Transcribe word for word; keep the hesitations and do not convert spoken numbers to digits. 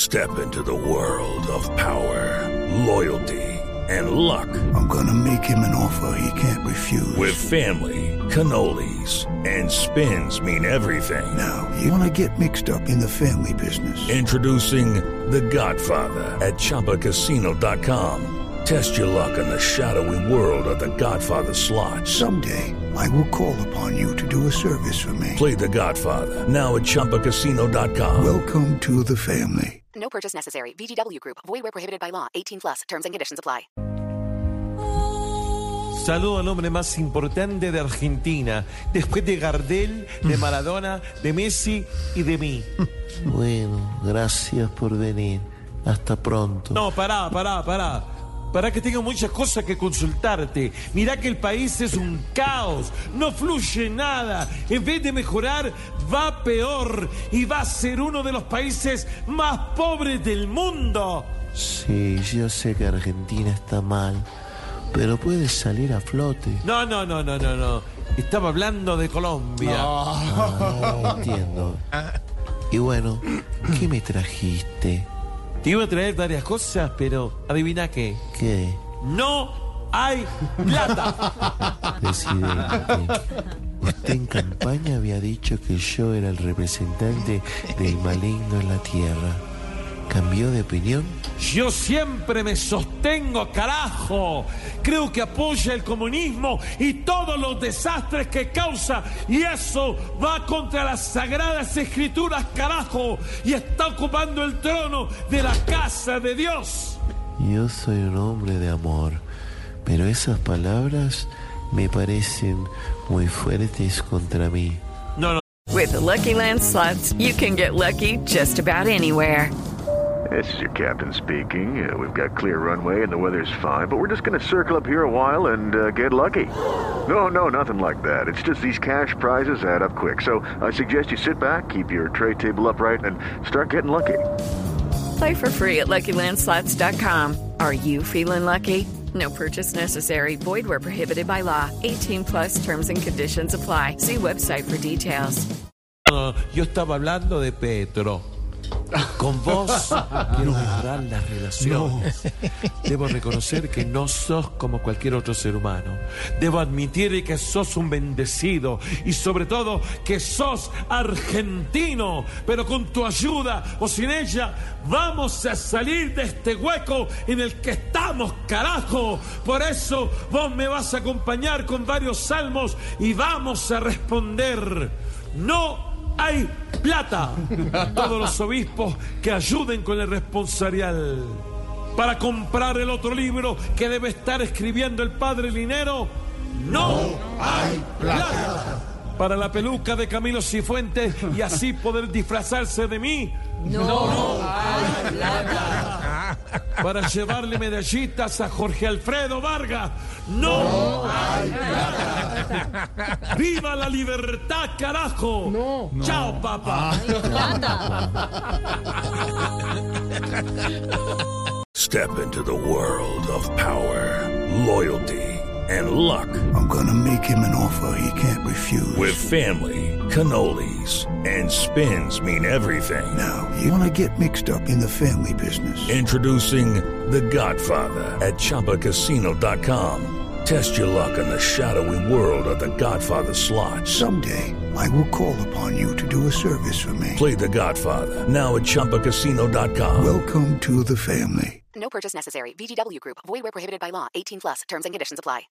Step into the world of power, loyalty, and luck. I'm gonna make him an offer he can't refuse. With family, cannolis, and spins mean everything. Now, you wanna get mixed up in the family business. Introducing The Godfather at Chumba Casino dot com. Test your luck in the shadowy world of The Godfather slot. Someday, I will call upon you to do a service for me. Play The Godfather now at Chumba Casino dot com. Welcome to the family. No purchase necessary. V G W Group. Void where prohibited by law. eighteen plus. Terms and conditions apply. Saludo al hombre más importante de Argentina, después de Gardel, de Maradona, de Messi y de mí. Bueno, gracias por venir. Hasta pronto. No, pará, pará, pará. Para que tengo muchas cosas que consultarte. Mirá que el país es un caos, no fluye nada. En vez de mejorar, va peor y va a ser uno de los países más pobres del mundo. Sí, yo sé que Argentina está mal, pero puede salir a flote. No, no, no, no, no, no. Estaba hablando de Colombia. No. Ah, entiendo. Y bueno, ¿qué me trajiste? Te iba a traer varias cosas, pero adivina qué. ¿Qué? No hay plata. Presidente, usted en campaña había dicho que yo era el representante del maligno en la tierra. ¿Cambió de opinión? Yo siempre me sostengo, carajo. Creo que apoya el comunismo y todos los desastres que causa. Y eso va contra las sagradas escrituras, carajo. Y está ocupando el trono de la casa de Dios. Yo soy un hombre de amor, pero esas palabras me parecen muy fuertes contra mí. No, no. With the Lucky Land Slots, you can get lucky just about anywhere. This is your captain speaking. Uh, we've got clear runway and the weather's fine, but we're just going to circle up here a while and uh, get lucky. No, no, nothing like that. It's just these cash prizes add up quick. So I suggest you sit back, keep your tray table upright, and start getting lucky. Play for free at Lucky Land Slots dot com. Are you feeling lucky? No purchase necessary. Void where prohibited by law. eighteen plus terms and conditions apply. See website for details. No, yo estaba hablando de Petro. Con vos quiero mejorar las relaciones. No. Debo reconocer que no sos como cualquier otro ser humano. Debo admitir que sos un bendecido y sobre todo que sos argentino. Pero con tu ayuda o sin ella vamos a salir de este hueco en el que estamos, carajo. Por eso vos me vas a acompañar con varios salmos y vamos a responder: no hay plata. A todos los obispos que ayuden con el responsorial para comprar el otro libro que debe estar escribiendo el padre Linero. No, no hay plata. plata. Para la peluca de Camilo Cifuentes y así poder disfrazarse de mí. No, no hay plata. Para llevarle medallitas a Jorge Alfredo Vargas. No, no hay plata. ¡Viva la libertad, carajo! No, no. ¡Chao, papá! Step into the world of power, loyalty, and luck. I'm gonna make him an offer he can't refuse. With family, cannolis, and spins mean everything. Now, you wanna get mixed up in the family business. Introducing The Godfather at Chumba Casino dot com. Test your luck in the shadowy world of The Godfather slot. Someday, I will call upon you to do a service for me. Play The Godfather now at Chumba Casino dot com. Welcome to the family. No purchase necessary. V G W Group. Void where prohibited by law. eighteen plus. Terms and conditions apply.